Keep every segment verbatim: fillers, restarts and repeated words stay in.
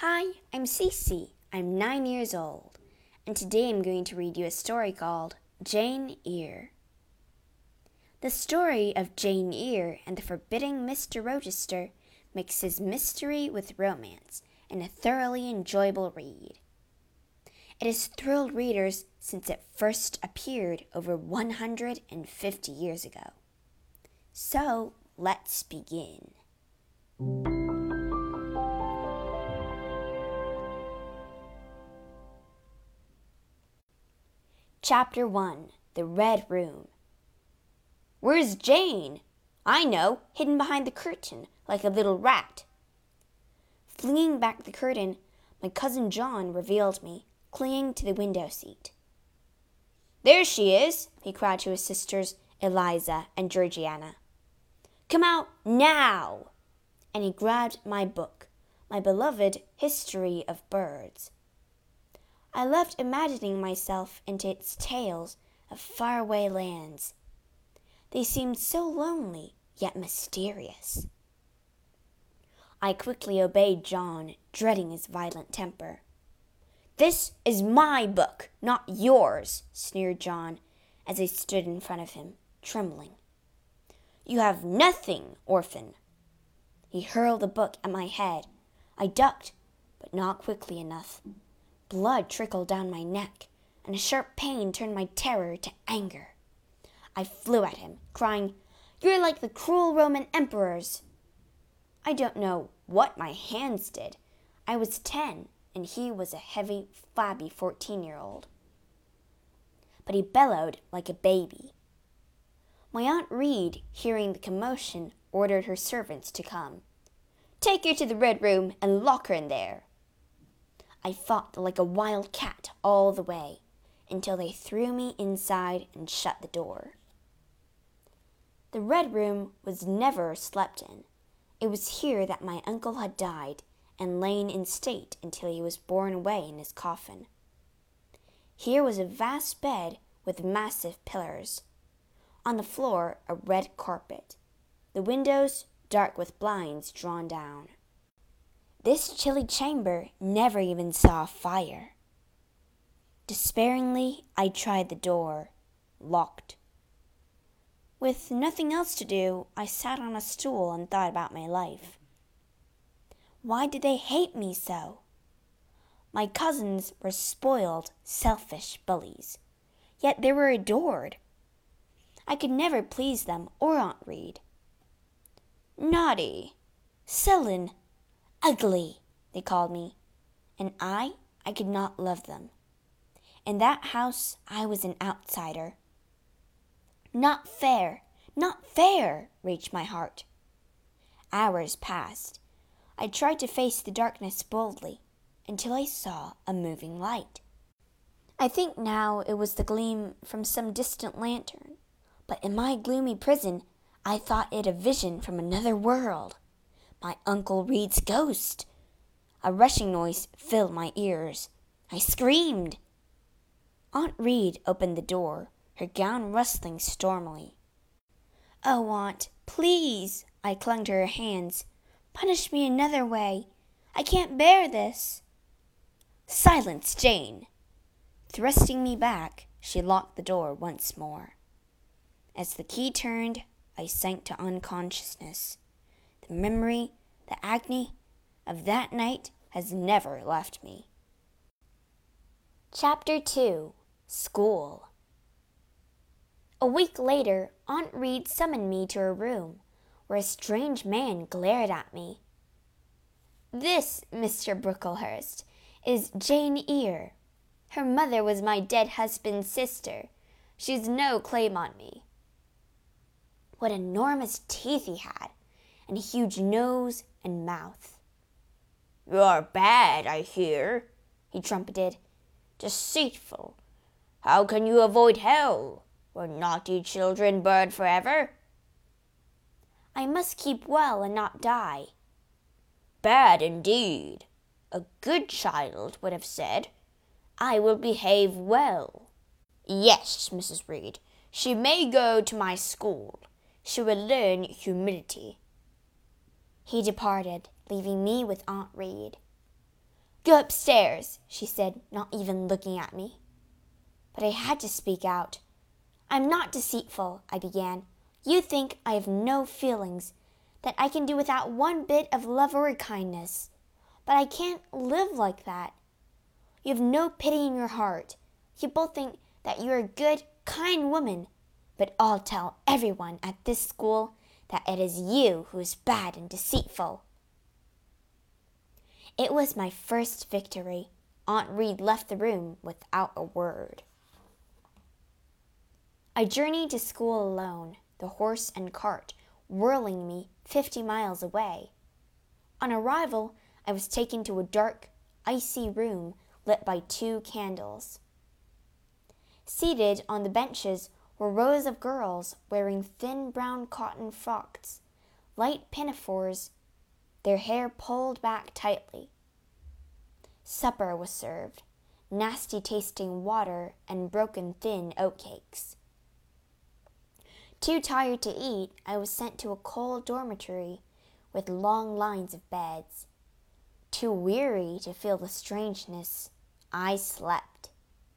Hi, I'm Cece. I'm nine years old, and today I'm going to read you a story called Jane Eyre. The story of Jane Eyre and the forbidding Mister Rochester mixes mystery with romance in a thoroughly enjoyable read. It has thrilled readers since it first appeared over one hundred fifty years ago. So, let's begin. Chapter one. The Red Room. Where's Jane? I know, hidden behind the curtain, like a little rat. Flinging back the curtain, my cousin John revealed me, clinging to the window seat. There she is, he cried to his sisters, Eliza and Georgiana. Come out now! And he grabbed my book, my beloved History of Birds. I loved imagining myself into its tales of faraway lands. They seemed so lonely, yet mysterious. I quickly obeyed John, dreading his violent temper. This is my book, not yours, sneered John, as I stood in front of him, trembling. You have nothing, orphan. He hurled the book at my head. I ducked, but not quickly enough. Blood trickled down my neck, and a sharp pain turned my terror to anger. I flew at him, crying, You're like the cruel Roman emperors. I don't know what my hands did. I was ten, and he was a heavy, flabby fourteen-year-old. But he bellowed like a baby. My Aunt Reed, hearing the commotion, ordered her servants to come. Take her to the Red Room and lock her in there. I fought like a wild cat all the way, until they threw me inside and shut the door. The Red Room was never slept in. It was here that my uncle had died and lain in state until he was borne away in his coffin. Here was a vast bed with massive pillars. On the floor, a red carpet. The windows dark with blinds drawn down. This chilly chamber never even saw a fire. Despairingly, I tried the door, locked. With nothing else to do, I sat on a stool and thought about my life. Why did they hate me so? My cousins were spoiled, selfish bullies, yet they were adored. I could never please them or Aunt Reed. Naughty, sullen, ugly, they called me, and I, I could not love them. In that house, I was an outsider. Not fair, not fair, raged my heart. Hours passed. I tried to face the darkness boldly, until I saw a moving light. I think now it was the gleam from some distant lantern, but in my gloomy prison, I thought it a vision from another world. My Uncle Reed's ghost. A rushing noise filled my ears. I screamed. Aunt Reed opened the door, her gown rustling stormily. Oh, Aunt, please, I clung to her hands. Punish me another way. I can't bear this. Silence, Jane. Thrusting me back, she locked the door once more. As the key turned, I sank to unconsciousness. The memory, the agony of that night has never left me. Chapter two. School. A week later, Aunt Reed summoned me to her room, where a strange man glared at me. This, Mister Brooklehurst, is Jane Eyre. Her mother was my dead husband's sister. She's no claim on me. What enormous teeth he had, and a huge nose and mouth. You're bad, I hear, he trumpeted. Deceitful. How can you avoid hell? Were naughty children burned forever? I must keep well and not die. Bad indeed. A good child would have said, I will behave well. Yes, Missus Reed, she may go to my school. She will learn humility. He departed, leaving me with Aunt Reed. Go upstairs, she said, not even looking at me. But I had to speak out. I'm not deceitful, I began. You think I have no feelings, that I can do without one bit of love or kindness. But I can't live like that. You have no pity in your heart. You both think that you are a good, kind woman. But I'll tell everyone at this school that it is you who is bad and deceitful. It was my first victory. Aunt Reed left the room without a word. I journeyed to school alone, the horse and cart whirling me fifty miles away. On arrival, I was taken to a dark, icy room lit by two candles. Seated on the benches were rows of girls wearing thin brown cotton frocks, light pinafores, their hair pulled back tightly. Supper was served, nasty-tasting water and broken thin oatcakes. Too tired to eat, I was sent to a cold dormitory with long lines of beds. Too weary to feel the strangeness, I slept.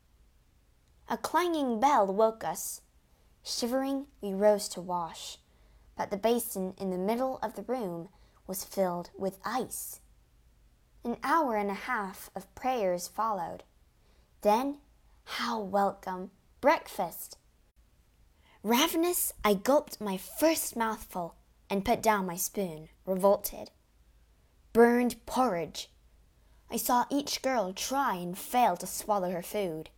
A clanging bell woke us. Shivering, we rose to wash, but the basin in the middle of the room was filled with ice. An hour and a half of prayers followed. Then, how welcome, breakfast! Ravenous, I gulped my first mouthful and put down my spoon, revolted. Burned porridge. I saw each girl try and fail to swallow her food.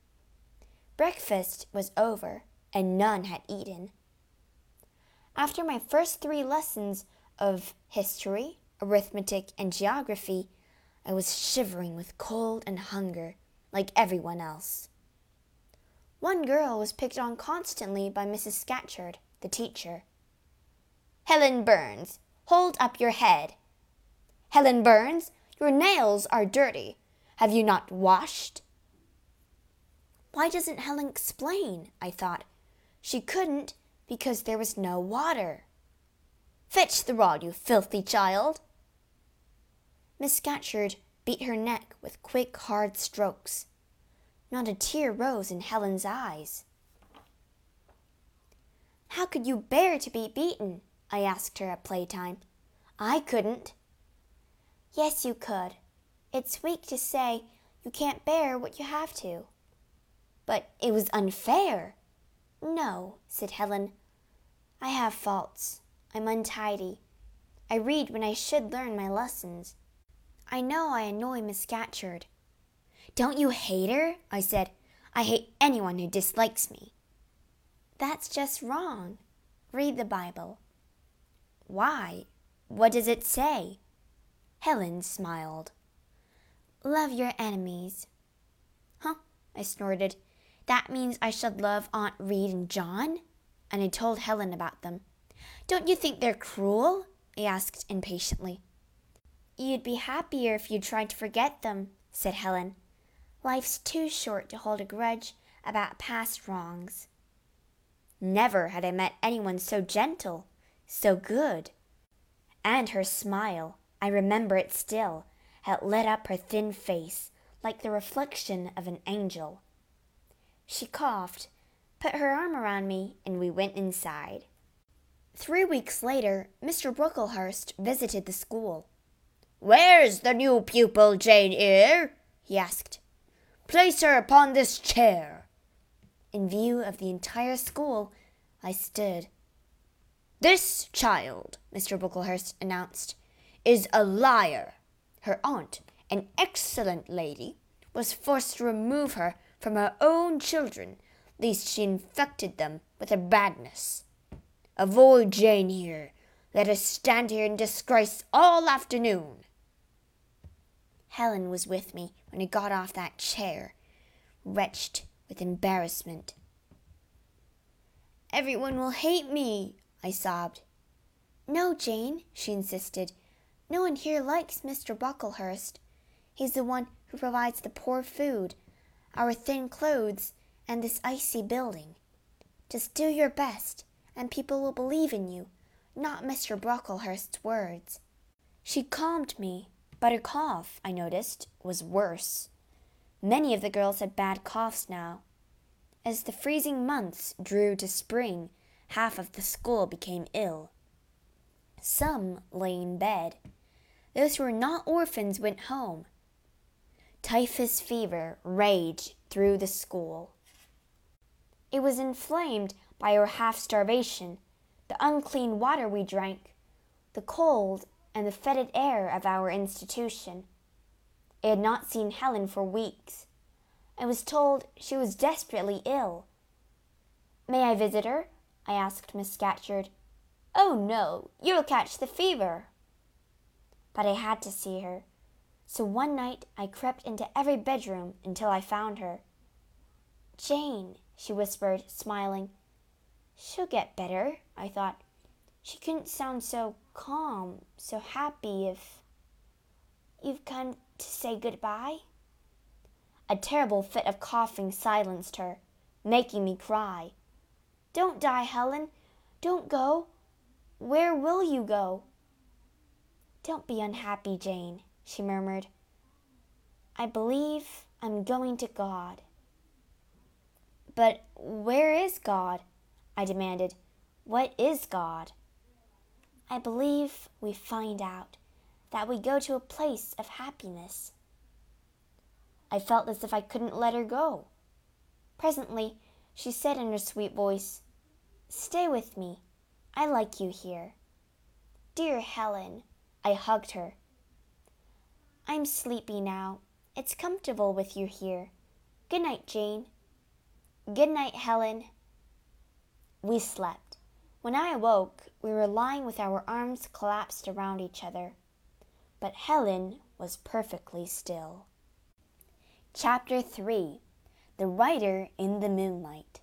Breakfast was over, and none had eaten. After my first three lessons of history, arithmetic, and geography, I was shivering with cold and hunger, like everyone else. One girl was picked on constantly by Missus Scatcherd, the teacher. Helen Burns, hold up your head. Helen Burns, your nails are dirty. Have you not washed? Why doesn't Helen explain? I thought. She couldn't because there was no water. Fetch the rod, you filthy child. Miss Scatcherd beat her neck with quick, hard strokes. Not a tear rose in Helen's eyes. How could you bear to be beaten? I asked her at playtime. I couldn't. Yes, you could. It's weak to say you can't bear what you have to. But it was unfair. No, said Helen. I have faults. I'm untidy. I read when I should learn my lessons. I know I annoy Miss Scatcherd. Don't you hate her? I said. I hate anyone who dislikes me. That's just wrong. Read the Bible. Why? What does it say? Helen smiled. Love your enemies. Huh? I snorted. That means I should love Aunt Reed and John? And I told Helen about them. Don't you think they're cruel? I asked impatiently. You'd be happier if you tried to forget them, said Helen. Life's too short to hold a grudge about past wrongs. Never had I met anyone so gentle, so good. And her smile, I remember it still, had lit up her thin face like the reflection of an angel. She coughed, put her arm around me, and we went inside. Three weeks later, Mister Brocklehurst visited the school. Where's the new pupil, Jane Eyre? He asked. Place her upon this chair. In view of the entire school, I stood. This child, Mister Brocklehurst announced, is a liar. Her aunt, an excellent lady, was forced to remove her from her own children, lest she infected them with her badness. Avoid Jane here. Let us stand here in disgrace all afternoon. Helen was with me when I got off that chair, wretched with embarrassment. Everyone will hate me, I sobbed. No, Jane, she insisted. No one here likes Mister Brocklehurst. He's the one who provides the poor food, our thin clothes, and this icy building. Just do your best, and people will believe in you, not Mister Brocklehurst's words. She calmed me. But her cough, I noticed, was worse. Many of the girls had bad coughs now. As the freezing months drew to spring, half of the school became ill. Some lay in bed. Those who were not orphans went home. Typhus fever raged through the school. It was inflamed by our half-starvation, the unclean water we drank, the cold and the fetid air of our institution. I had not seen Helen for weeks. I was told she was desperately ill. "May I visit her?" I asked Miss Scatcherd. "Oh, no, you'll catch the fever." But I had to see her, so one night I crept into every bedroom until I found her. "Jane," she whispered, smiling. "She'll get better," I thought. She couldn't sound so calm, so happy if... "You've come to say goodbye?" A terrible fit of coughing silenced her, making me cry. "Don't die, Helen. Don't go. Where will you go?" "Don't be unhappy, Jane," she murmured. "I believe I'm going to God." "But where is God?" I demanded. "What is God?" "I believe we find out that we go to a place of happiness." I felt as if I couldn't let her go. Presently, she said in her sweet voice, "Stay with me. I like you here." "Dear Helen," I hugged her. "I'm sleepy now. It's comfortable with you here. Good night, Jane." "Good night, Helen." We slept. When I awoke, we were lying with our arms collapsed around each other. But Helen was perfectly still. Chapter three. The Writer in the Moonlight.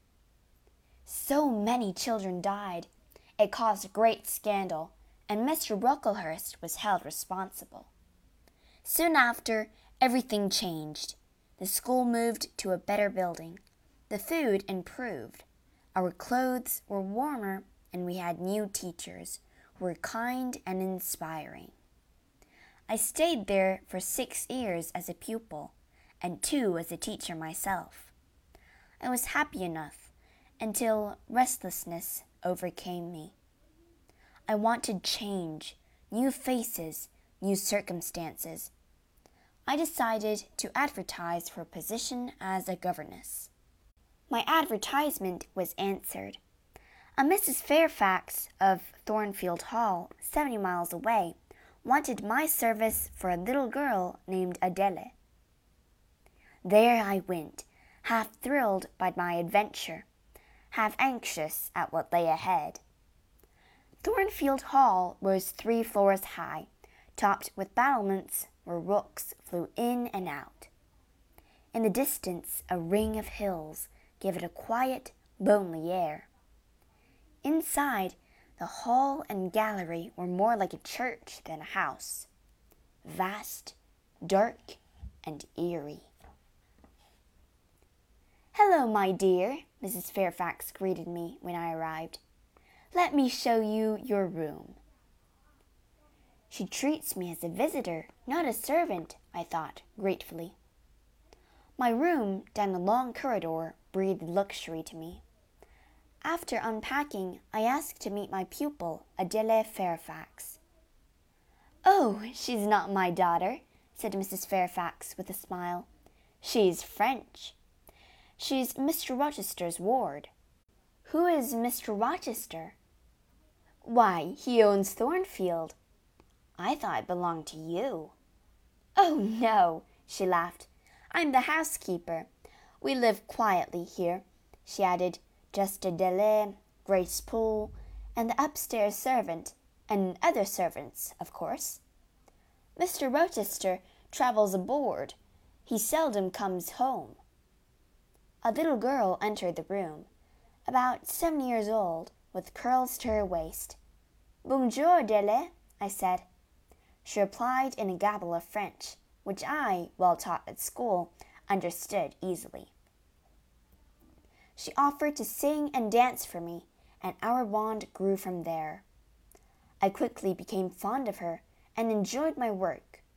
So many children died. It caused great scandal, and Mister Brocklehurst was held responsible. Soon after, everything changed. The school moved to a better building. The food improved. Our clothes were warmer, and we had new teachers who were kind and inspiring. I stayed there for six years as a pupil, and two as a teacher myself. I was happy enough until restlessness overcame me. I wanted change, new faces, new circumstances. I decided to advertise for a position as a governess. My advertisement was answered. A Missus Fairfax of Thornfield Hall, seventy miles away, wanted my service for a little girl named Adele. There I went, half thrilled by my adventure, half anxious at what lay ahead. Thornfield Hall rose three floors high, topped with battlements where rooks flew in and out. In the distance, a ring of hills gave it a quiet, lonely air. Inside, the hall and gallery were more like a church than a house, vast, dark, and eerie. "Hello, my dear," Missus Fairfax greeted me when I arrived. "Let me show you your room." She treats me as a visitor, not a servant, I thought gratefully. My room down a long corridor breathed luxury to me. After unpacking, I asked to meet my pupil, Adele Fairfax. "Oh, she's not my daughter," said Missus Fairfax with a smile. "She's French. She's Mister Rochester's ward." "Who is Mister Rochester?" "Why, he owns Thornfield." "I thought it belonged to you." "Oh, no," she laughed. "I'm the housekeeper. We live quietly here," she added. "Just Adele, Grace Poole, and the upstairs servant, and other servants, of course. Mister Rochester travels aboard. He seldom comes home." A little girl entered the room, about seven years old, with curls to her waist. "Bonjour, Adele," I said. She replied in a gabble of French, which I, well taught at school, understood easily. She offered to sing and dance for me, and our bond grew from there. I quickly became fond of her and enjoyed my work,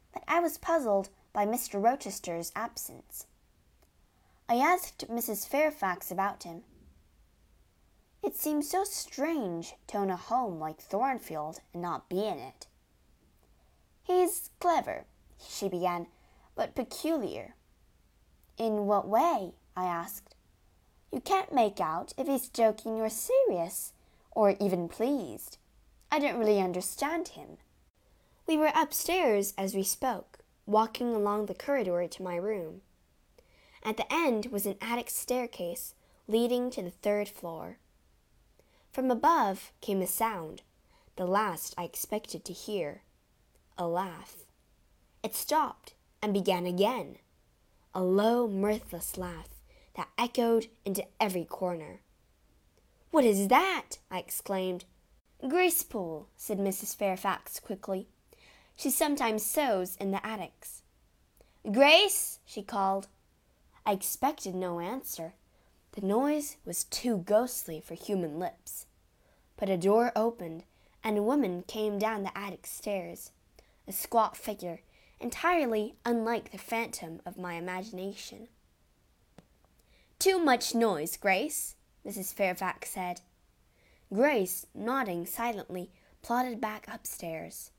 but I was puzzled by Mister Rochester's absence. I asked Missus Fairfax about him. It seems so strange to own a home like Thornfield and not be in it. He's clever, she began, but peculiar. In what way? I asked. You can't make out if he's joking or serious, or even pleased. I don't really understand him. We were upstairs as we spoke, walking along the corridor to my room. At the end was an attic staircase leading to the third floor. From above came a sound, the last I expected to hear, a laugh. It stopped and began again, a low, mirthless laugh that echoed into every corner. "What is that?" I exclaimed. "Gracepool," said Missus Fairfax quickly. "She sometimes sews in the attics." "Grace!" she called. I expected no answer. The noise was too ghostly for human lips. But a door opened, and a woman came down the attic stairs, a squat figure, entirely unlike the phantom of my imagination. "Too much noise, Grace," Missus Fairfax said. Grace, nodding silently, plodded back upstairs.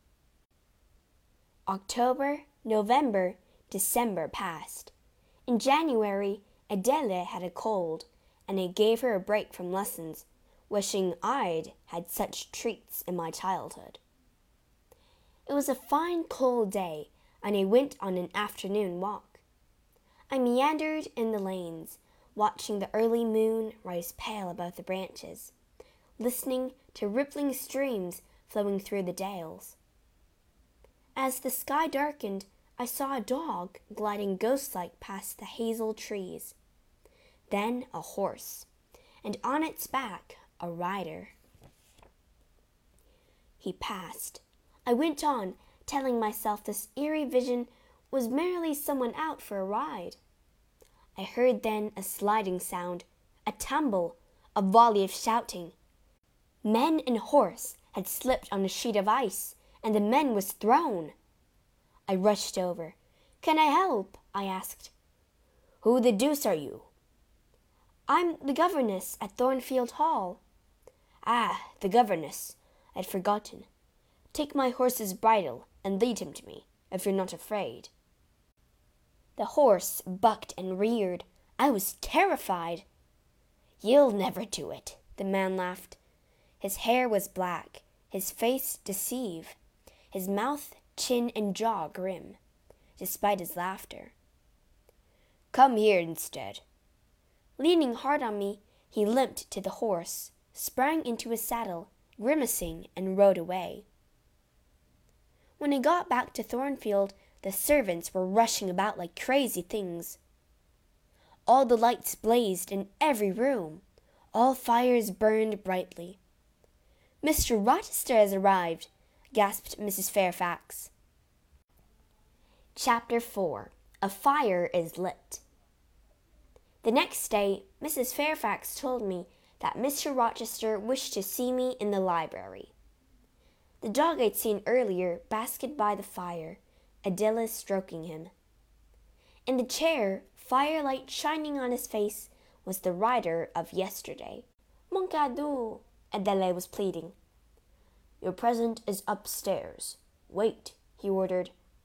October, November, December passed. In January, Adele had a cold, and I gave her a break from lessons, wishing I'd had such treats in my childhood. It was a fine cold day, and I went on an afternoon walk. I meandered in the lanes, watching the early moon rise pale above the branches, listening to rippling streams flowing through the dales. As the sky darkened, I saw a dog gliding ghost-like past the hazel trees. Then a horse, and on its back a rider. He passed. I went on, telling myself this eerie vision was merely someone out for a ride. I heard then a sliding sound, a tumble, a volley of shouting. Men and horse had slipped on a sheet of ice, and the man was thrown. I rushed over. "Can I help?" I asked. "Who the deuce are you?" "I'm the governess at Thornfield Hall." "Ah, the governess. I'd forgotten. Take my horse's bridle and lead him to me, if you're not afraid." The horse bucked and reared. I was terrified. "You'll never do it," the man laughed. His hair was black, his face deceive, his mouth, chin, and jaw grim, despite his laughter. "Come here instead." Leaning hard on me, he limped to the horse, sprang into his saddle, grimacing, and rode away. When I got back to Thornfield, the servants were rushing about like crazy things. All the lights blazed in every room. All fires burned brightly. "Mister Rochester has arrived," gasped Missus Fairfax. Chapter four. A Fire is Lit. The next day, Missus Fairfax told me that Mister Rochester wished to see me in the library. The dog I'd seen earlier basked by the fire, Adele stroking him. In the chair, firelight shining on his face, was the rider of yesterday. "Mon cadeau," Adele was pleading. "Your present is upstairs. Wait," he ordered.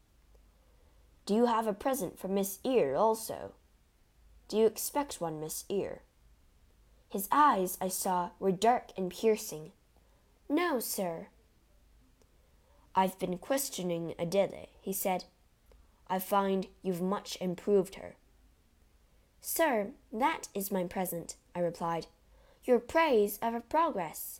"Do you have a present for Miss Eyre also? Do you expect one, Miss Eyre?" His eyes, I saw, were dark and piercing. "No, sir." "I've been questioning Adele," he said. "I find you've much improved her." "Sir, that is my present," I replied. "Your praise of her progress."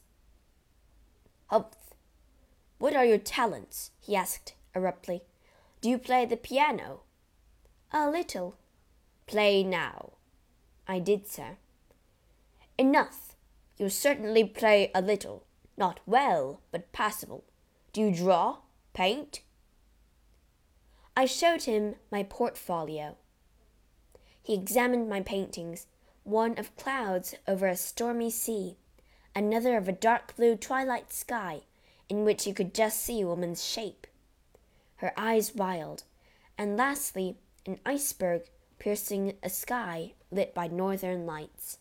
"Humph! What are your talents?" he asked abruptly. "Do you play the piano?" "A little." "Play now." I did so. "Enough! You certainly play a little. Not well, but passable. Do you draw? Paint?" I showed him my portfolio. He examined my paintings, one of clouds over a stormy sea, another of a dark blue twilight sky in which you could just see a woman's shape. her eyes wild, and lastly, an iceberg piercing a sky lit by northern lights.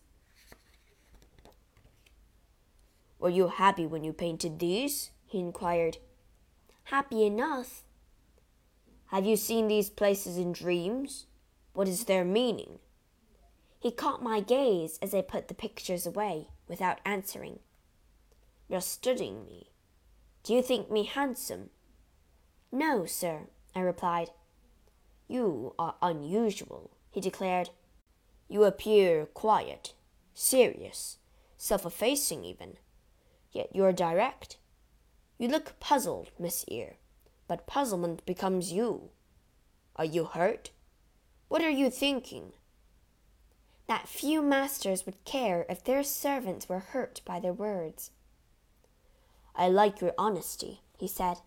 "Were you happy when you painted these?" he inquired. "Happy enough." "Have you seen these places in dreams? What is their meaning?" He caught my gaze as I put the pictures away, without answering. "You're studying me. Do you think me handsome?" "No, sir," I replied. "You are unusual," he declared. "You appear quiet, serious, self-effacing even. Yet you are direct. You look puzzled, Miss Eyre, but puzzlement becomes you. Are you hurt? What are you thinking?" That few masters would care if their servants were hurt by their words. "I like your honesty," he said.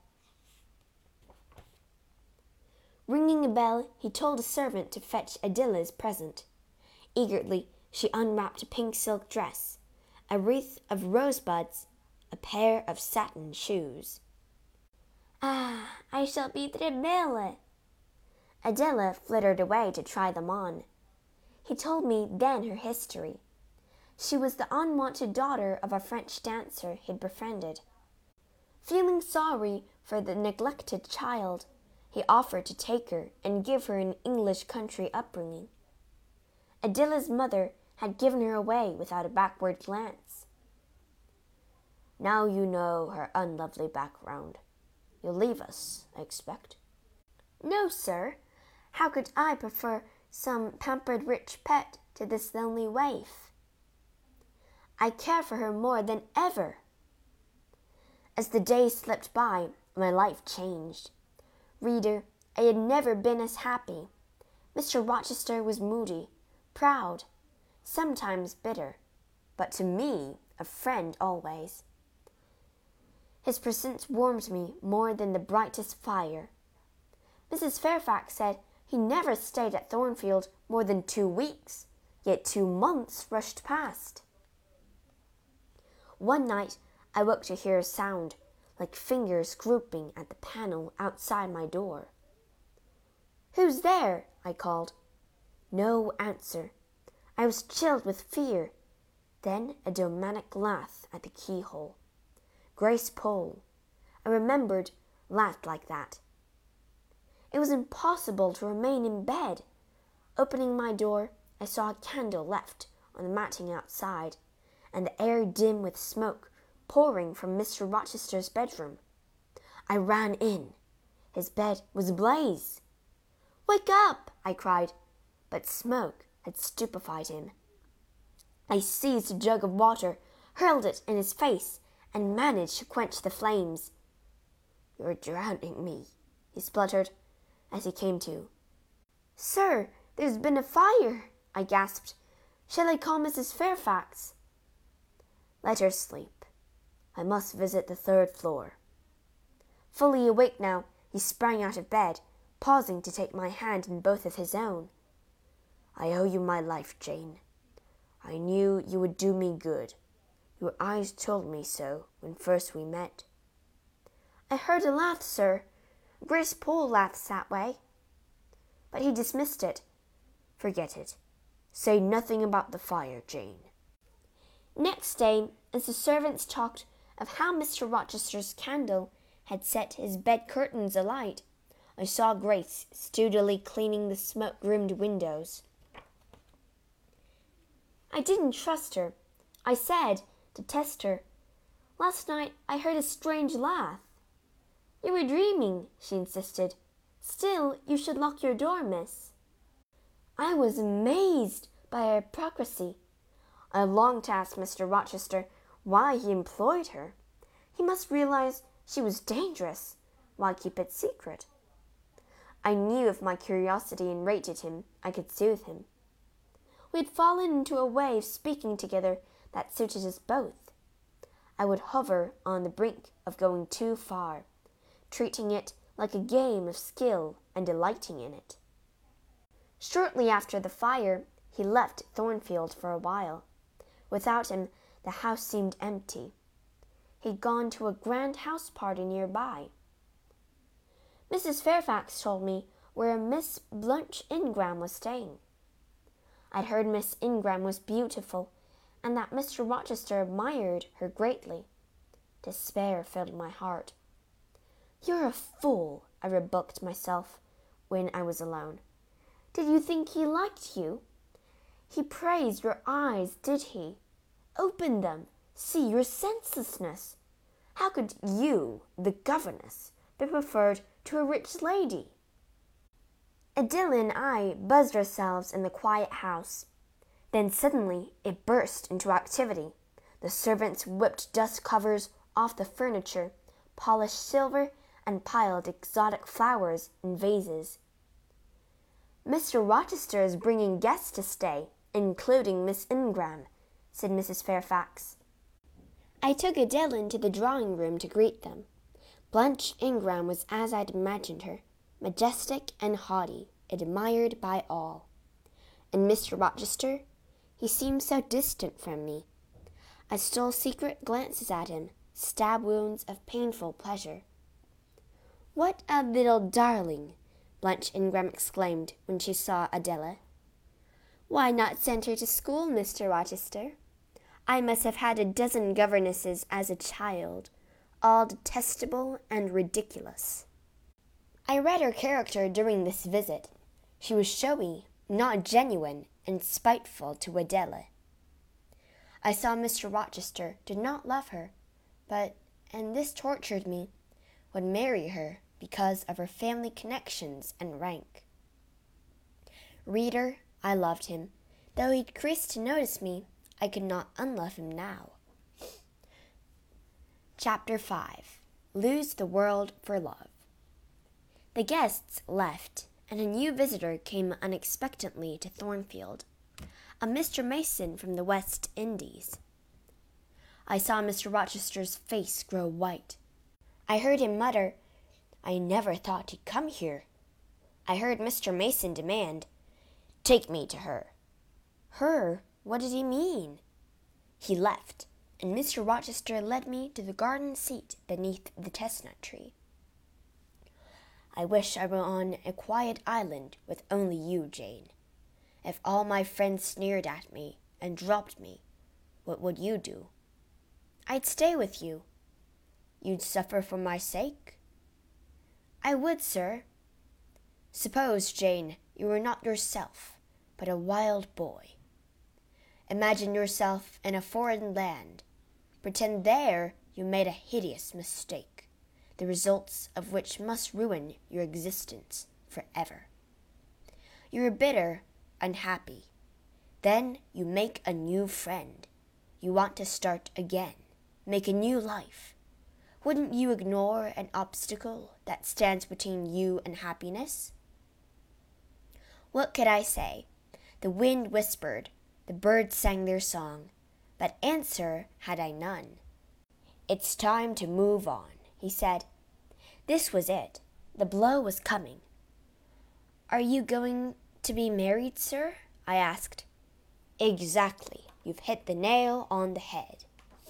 Ringing a bell, he told a servant to fetch Adilla's present. Eagerly, she unwrapped a pink silk dress, a wreath of rosebuds, a pair of satin shoes. "Ah, I shall be très belle." Adilla flittered away to try them on. He told me then her history. She was the unwanted daughter of a French dancer he'd befriended. Feeling sorry for the neglected child, he offered to take her and give her an English country upbringing. Adilla's mother had given her away without a backward glance. "Now you know her unlovely background. You'll leave us, I expect." "No, sir. How could I prefer some pampered rich pet to this lonely waif? I care for her more than ever." As the days slipped by, my life changed. Reader, I had never been as happy. Mister Rochester was moody, proud, sometimes bitter, but to me a friend always. His presence warmed me more than the brightest fire. Missus Fairfax said he never stayed at Thornfield more than two weeks, yet two months rushed past. One night I woke to hear a sound, like fingers groping at the panel outside my door. "Who's there?" I called. No answer. I was chilled with fear. Then a demonic laugh at the keyhole. Grace Poole, I remembered, laughed like that. It was impossible to remain in bed. Opening my door, I saw a candle left on the matting outside, and the air dim with smoke pouring from Mister Rochester's bedroom. I ran in. His bed was ablaze. "Wake up!" I cried, but smoke had stupefied him. I seized a jug of water, hurled it in his face, and managed to quench the flames. "You're drowning me," he spluttered as he came to. "Sir, there's been a fire," I gasped. "Shall I call Missus Fairfax?" "Let her sleep. I must visit the third floor." Fully awake now, he sprang out of bed, pausing to take my hand in both of his own. "I owe you my life, Jane. I knew you would do me good. Your eyes told me so when first we met." "I heard a laugh, sir. Grace Poole laughs that way." But he dismissed it. "Forget it. Say nothing about the fire, Jane." Next day, as the servants talked of how Mister Rochester's candle had set his bed curtains alight, I saw Grace sturdily cleaning the smoke-rimmed windows. I didn't trust her. I said, to test her, "Last night I heard a strange laugh." "You were dreaming," she insisted. "Still, you should lock your door, miss." I was amazed by her hypocrisy. I longed to ask Mister Rochester why he employed her. He must realize she was dangerous. Why keep it secret? I knew if my curiosity enraged him, I could soothe him. We had fallen into a way of speaking together that suited us both. I would hover on the brink of going too far, treating it like a game of skill and delighting in it. Shortly after the fire, he left Thornfield for a while. Without him, the house seemed empty. He'd gone to a grand house party nearby. Missus Fairfax told me where Miss Blanche Ingram was staying. I'd heard Miss Ingram was beautiful, and that Mister Rochester admired her greatly. Despair filled my heart. "You're a fool," I rebuked myself when I was alone. "Did you think he liked you? He praised your eyes, did he? Open them. See your senselessness. How could you, the governess, be preferred to a rich lady?" Adela and I buzzed ourselves in the quiet house. Then suddenly it burst into activity. The servants whipped dust covers off the furniture, polished silver, and piled exotic flowers in vases. "Mister Rochester is bringing guests to stay, including Miss Ingram," said Missus Fairfax. I took Adela into the drawing-room to greet them. Blanche Ingram was as I'd imagined her, majestic and haughty, admired by all. And Mister Rochester, he seemed so distant from me. I stole secret glances at him, stab wounds of painful pleasure. "What a little darling!" Blanche Ingram exclaimed when she saw Adela. "Why not send her to school, Mister Rochester? I must have had a dozen governesses as a child, all detestable and ridiculous." I read her character during this visit. She was showy, not genuine, and spiteful to Adela. I saw Mister Rochester did not love her, but, and this tortured me, would marry her because of her family connections and rank. Reader, I loved him. Though he decreased to notice me, I could not unlove him now. Chapter five. Lose the World for Love. The guests left, and a new visitor came unexpectedly to Thornfield, a Mister Mason from the West Indies. I saw Mister Rochester's face grow white. I heard him mutter, "I never thought he'd come here." I heard Mister Mason demand, "Take me to her." Her? What did he mean? He left, and Mister Rochester led me to the garden seat beneath the chestnut tree. I wish I were on a quiet island with only you, Jane. If all my friends sneered at me and dropped me, what would you do? I'd stay with you. You'd suffer for my sake? I would, sir. Suppose, Jane, you were not yourself, but a wild boy. Imagine yourself in a foreign land. Pretend there you made a hideous mistake, the results of which must ruin your existence forever. You are bitter, unhappy. Then you make a new friend. You want to start again, make a new life. Wouldn't you ignore an obstacle that stands between you and happiness? What could I say? The wind whispered, the birds sang their song, but answer had I none. It's time to move on, he said. This was it. The blow was coming. Are you going to be married, sir? I asked. Exactly. You've hit the nail on the head.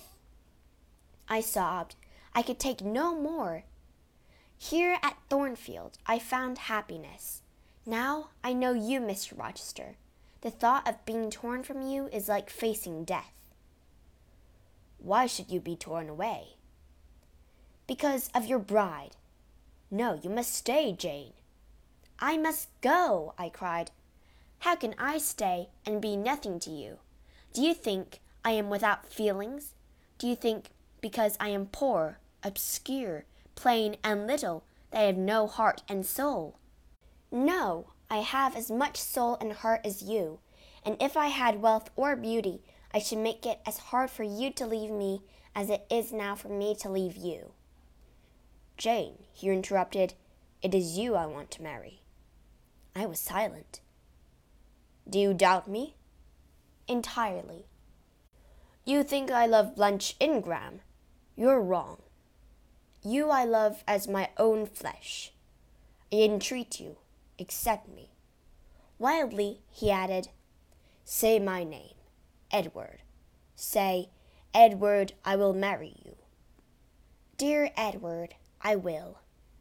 I sobbed. I could take no more. Here at Thornfield, I found happiness. Now I know you, Mister Rochester. The thought of being torn from you is like facing death. Why should you be torn away? Because of your bride. No, you must stay, Jane. I must go, I cried. How can I stay and be nothing to you? Do you think I am without feelings? Do you think because I am poor, obscure, plain, and little, that I have no heart and soul? No, I have as much soul and heart as you, and if I had wealth or beauty, I should make it as hard for you to leave me as it is now for me to leave you. Jane, he interrupted, it is you I want to marry. I was silent. Do you doubt me? Entirely. You think I love Blanche Ingram? You're wrong. You I love as my own flesh. I entreat you, accept me. Wildly, he added, say my name, Edward. Say, Edward, I will marry you. Dear Edward, I will.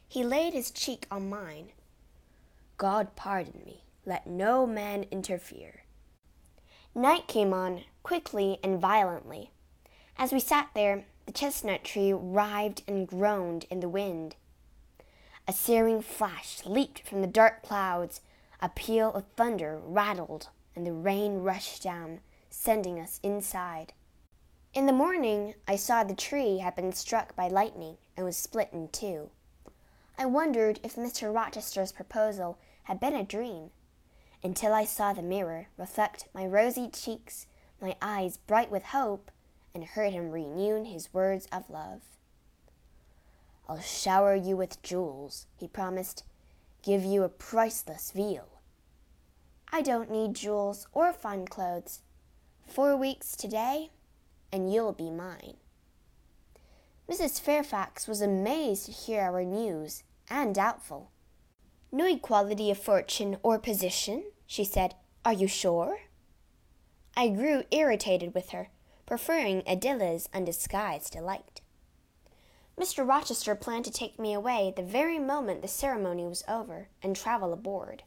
He laid his cheek on mine. God pardon me. Let no man interfere. Night came on, quickly and violently. As we sat there, the chestnut tree writhed and groaned in the wind. A searing flash leaped from the dark clouds, a peal of thunder rattled, and the rain rushed down, sending us inside. In the morning, I saw the tree had been struck by lightning and was split in two. I wondered if Mister Rochester's proposal had been a dream, until I saw the mirror reflect my rosy cheeks, my eyes bright with hope, and heard him renew his words of love. I'll shower you with jewels, he promised, give you a priceless veil. I don't need jewels or fine clothes. Four weeks today, and you'll be mine. Missus Fairfax was amazed to hear our news, and doubtful. No equality of fortune or position, she said. Are you sure? I grew irritated with her, preferring Adilla's undisguised delight. Mister Rochester planned to take me away the very moment the ceremony was over and travel aboard.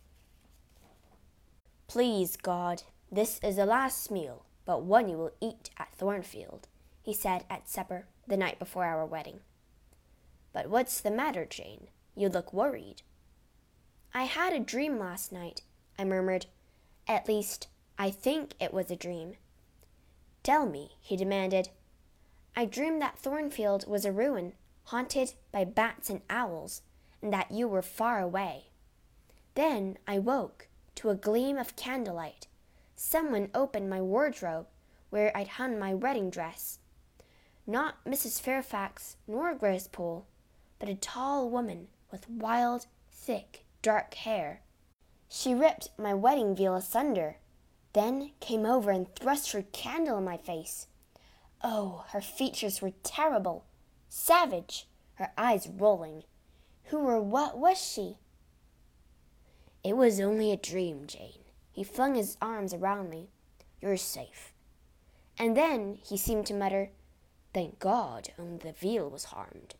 Please, God, this is the last meal, but one you will eat at Thornfield, he said at supper the night before our wedding. But what's the matter, Jane? You look worried. I had a dream last night, I murmured. At least, I think it was a dream. Tell me, he demanded. I dreamed that Thornfield was a ruin, haunted by bats and owls, and that you were far away. Then I woke to a gleam of candlelight. Someone opened my wardrobe, where I'd hung my wedding dress. Not Missus Fairfax nor Grace Poole, but a tall woman with wild, thick, dark hair. She ripped my wedding veil asunder, then came over and thrust her candle in my face. Oh, her features were terrible, savage, her eyes rolling. Who or what was she? It was only a dream, Jane. He flung his arms around me. You're safe. And then he seemed to mutter, Thank God only the veil was harmed.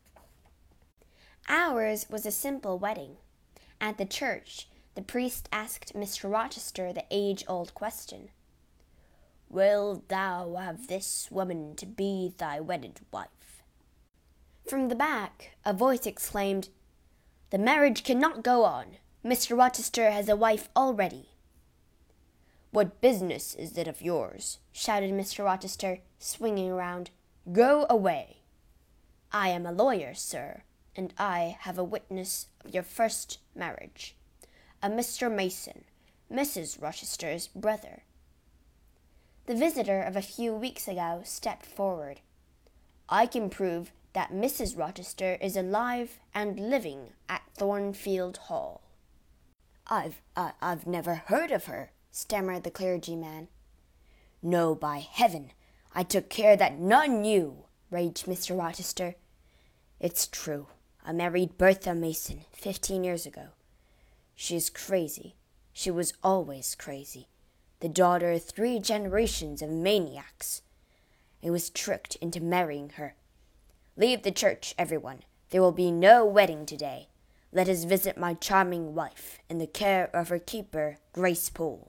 Ours was a simple wedding. At the church, the priest asked Mister Rochester the age-old question. Wilt thou have this woman to be thy wedded wife? From the back, a voice exclaimed, The marriage cannot go on. Mister Rochester has a wife already. What business is it of yours? Shouted Mister Rochester, swinging around. Go away. I am a lawyer, sir, and I have a witness of your first marriage, a Mister Mason, Missus Rochester's brother. The visitor of a few weeks ago stepped forward. I can prove that Missus Rochester is alive and living at Thornfield Hall. I've, I, I've never heard of her, stammered the clergyman. No, by heaven, I took care that none knew, raged Mister Rochester. It's true. I married Bertha Mason fifteen years ago. She is crazy. She was always crazy. The daughter of three generations of maniacs. I was tricked into marrying her. Leave the church, everyone. There will be no wedding today. Let us visit my charming wife in the care of her keeper, Grace Poole.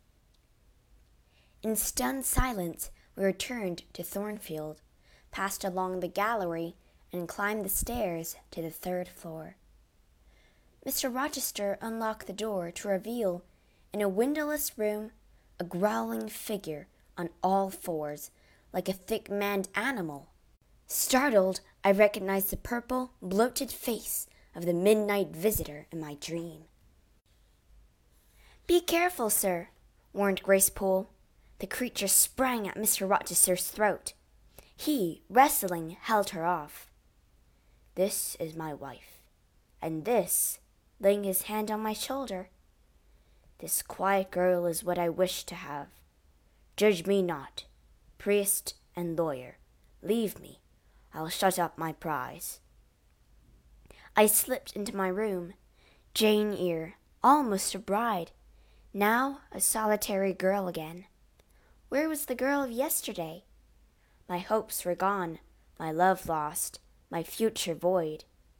In stunned silence, we returned to Thornfield, passed along the gallery, and climbed the stairs to the third floor. Mister Rochester unlocked the door to reveal, in a windowless room, a growling figure on all fours, like a thick-maned animal. Startled, I recognized the purple, bloated face of the midnight visitor in my dream. Be careful, sir, warned Grace Poole. The creature sprang at Mister Rochester's throat. He, wrestling, held her off. This is my wife, and this, laying his hand on my shoulder, this quiet girl is what I wish to have. Judge me not, priest and lawyer. Leave me. I'll shut up my prize. I slipped into my room, Jane Eyre, almost a bride, now a solitary girl again. Where was the girl of yesterday? My hopes were gone, my love lost, my future void.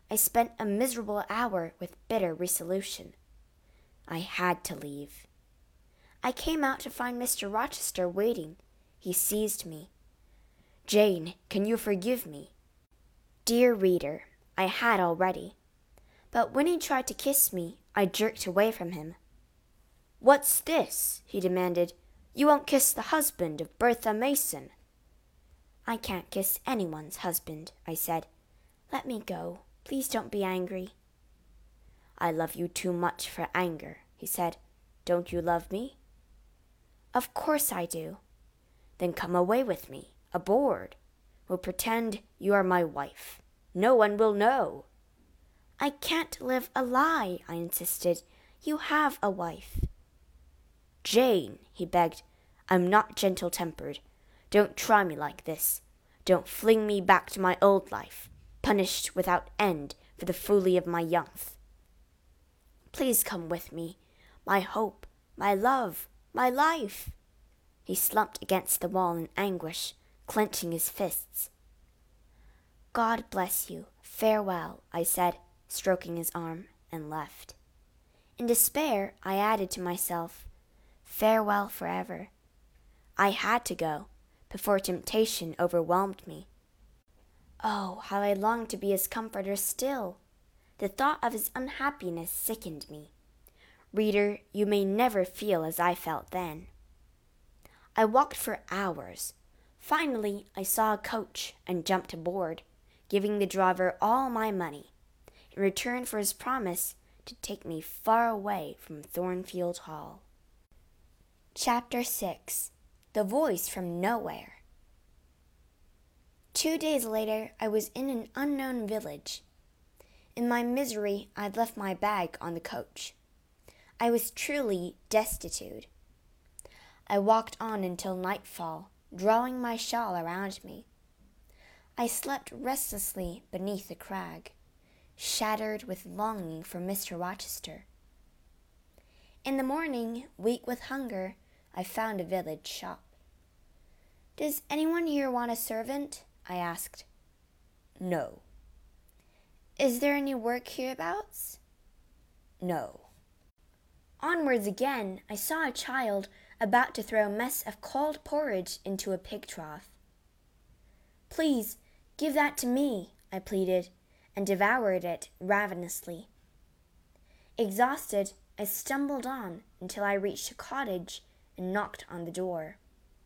I spent a miserable hour with bitter resolution. I had to leave. I came out to find Mister Rochester waiting. He seized me. "Jane, can you forgive me?" Dear reader, I had already. But when he tried to kiss me, I jerked away from him. "What's this?" he demanded. "You won't kiss the husband of Bertha Mason." "I can't kiss anyone's husband," I said. "Let me go. Please don't be angry." "I love you too much for anger," he said. "Don't you love me?" "Of course I do." "Then come away with me, aboard. We'll pretend you are my wife. No one will know." "I can't live a lie," I insisted. "You have a wife." "Jane," he begged, "I'm not gentle-tempered. Don't try me like this. Don't fling me back to my old life, punished without end for the folly of my youth. Please come with me, my hope, my love, my life." He slumped against the wall in anguish, clenching his fists. "God bless you. Farewell," I said, stroking his arm, and left. In despair, I added to myself, "Farewell forever." I had to go, before temptation overwhelmed me. Oh, how I longed to be his comforter still! The thought of his unhappiness sickened me. Reader, you may never feel as I felt then. I walked for hours. Finally, I saw a coach and jumped aboard, giving the driver all my money, in return for his promise to take me far away from Thornfield Hall. Chapter six. The Voice from Nowhere. Two days later, I was in an unknown village. In my misery, I'd left my bag on the coach. I was truly destitute. I walked on until nightfall, drawing my shawl around me. I slept restlessly beneath a crag, shattered with longing for Mister Rochester. In the morning, weak with hunger, I found a village shop. "Does anyone here want a servant?" I asked. "No." "Is there any work hereabouts?" "No." Onwards again, I saw a child about to throw a mess of cold porridge into a pig trough. "Please, give that to me," I pleaded, and devoured it ravenously. Exhausted, I stumbled on until I reached a cottage and knocked on the door.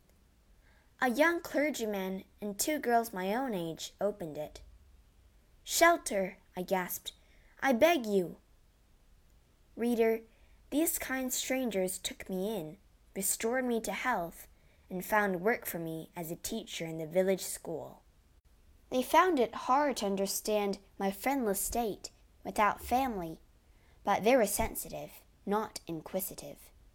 A young clergyman and two girls my own age opened it. "Shelter," I gasped. "I beg you." Reader, these kind strangers took me in, restored me to health, and found work for me as a teacher in the village school. They found it hard to understand my friendless state without family, but they were sensitive, not inquisitive.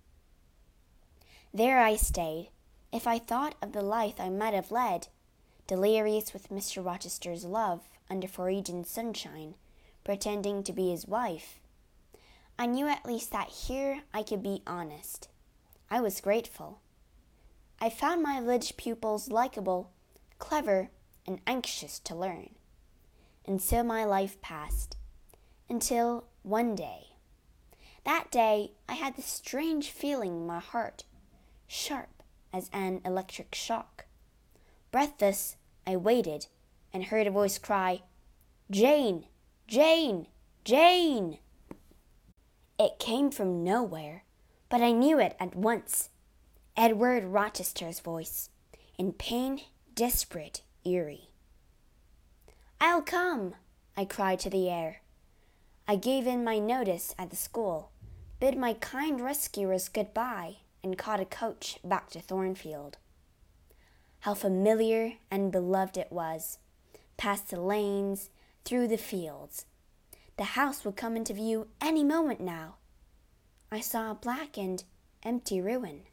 There I stayed. If I thought of the life I might have led, delirious with Mister Rochester's love under Foregian sunshine, pretending to be his wife, I knew at least that here I could be honest. I was grateful. I found my village pupils likable, clever, and anxious to learn. And so my life passed, until one day. That day I had this strange feeling in my heart, sharp as an electric shock. Breathless, I waited and heard a voice cry, "Jane! Jane! Jane!" It came from nowhere, but I knew it at once. Edward Rochester's voice, in pain, desperate, eerie. "I'll come," I cried to the air. I gave in my notice at the school, bid my kind rescuers good-bye, and caught a coach back to Thornfield. How familiar and beloved it was, past the lanes, through the fields. The house would come into view any moment now. I saw a blackened, empty ruin.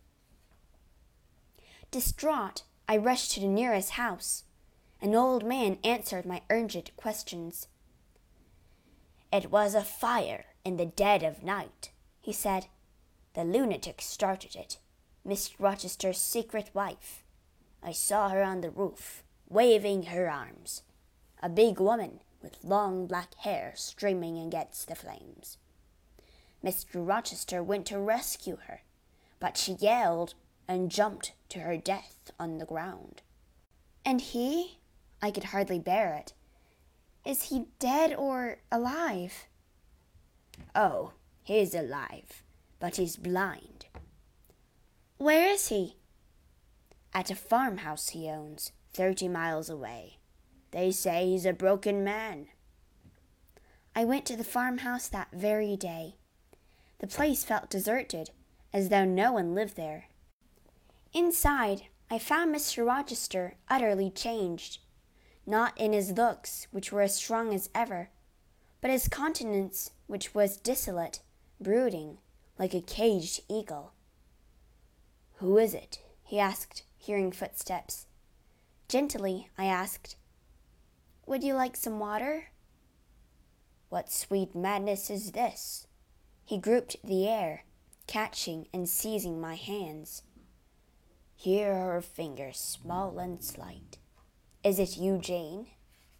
Distraught, I rushed to the nearest house. An old man answered my urgent questions. "It was a fire in the dead of night," he said. "The lunatic started it, Miss Rochester's secret wife. I saw her on the roof, waving her arms. A big woman, with long black hair streaming against the flames. Mister Rochester went to rescue her, but she yelled and jumped to her death on the ground. And he? I could hardly bear it. Is he dead or alive? Oh, he's alive, but he's blind. Where is he? At a farmhouse he owns, thirty miles away. They say he's a broken man. I went to the farmhouse that very day. The place felt deserted, as though no one lived there. Inside, I found Mister Rochester utterly changed, not in his looks, which were as strong as ever, but his countenance, which was dissolute, brooding, like a caged eagle. Who is it? He asked, hearing footsteps. Gently, I asked, Would you like some water? What sweet madness is this? He groped the air, catching and seizing my hands. Here are her fingers, small and slight. Is it you, Jane?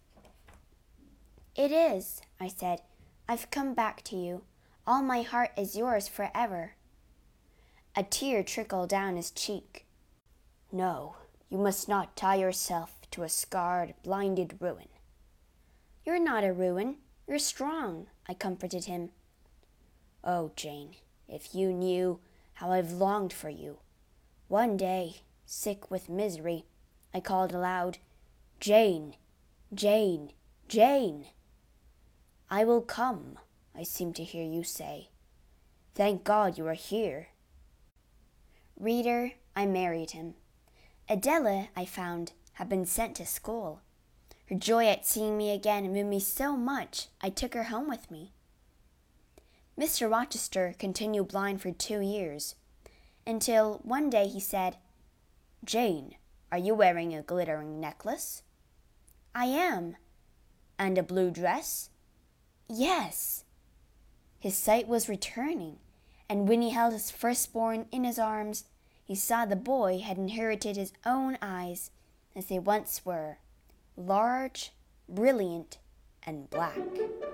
It is, I said. I've come back to you. All my heart is yours forever. A tear trickled down his cheek. No, you must not tie yourself to a scarred, blinded ruin. You're not a ruin. You're strong, I comforted him. Oh, Jane, if you knew how I've longed for you. One day, sick with misery, I called aloud, Jane, Jane, Jane. I will come, I seem to hear you say. Thank God you are here. Reader, I married him. Adela, I found, had been sent to school. Her joy at seeing me again moved me so much I took her home with me. Mister Rochester continued blind for two years, until one day he said, Jane, are you wearing a glittering necklace? I am. And a blue dress? Yes. His sight was returning, and when he held his firstborn in his arms, he saw the boy had inherited his own eyes as they once were, large, brilliant, and black.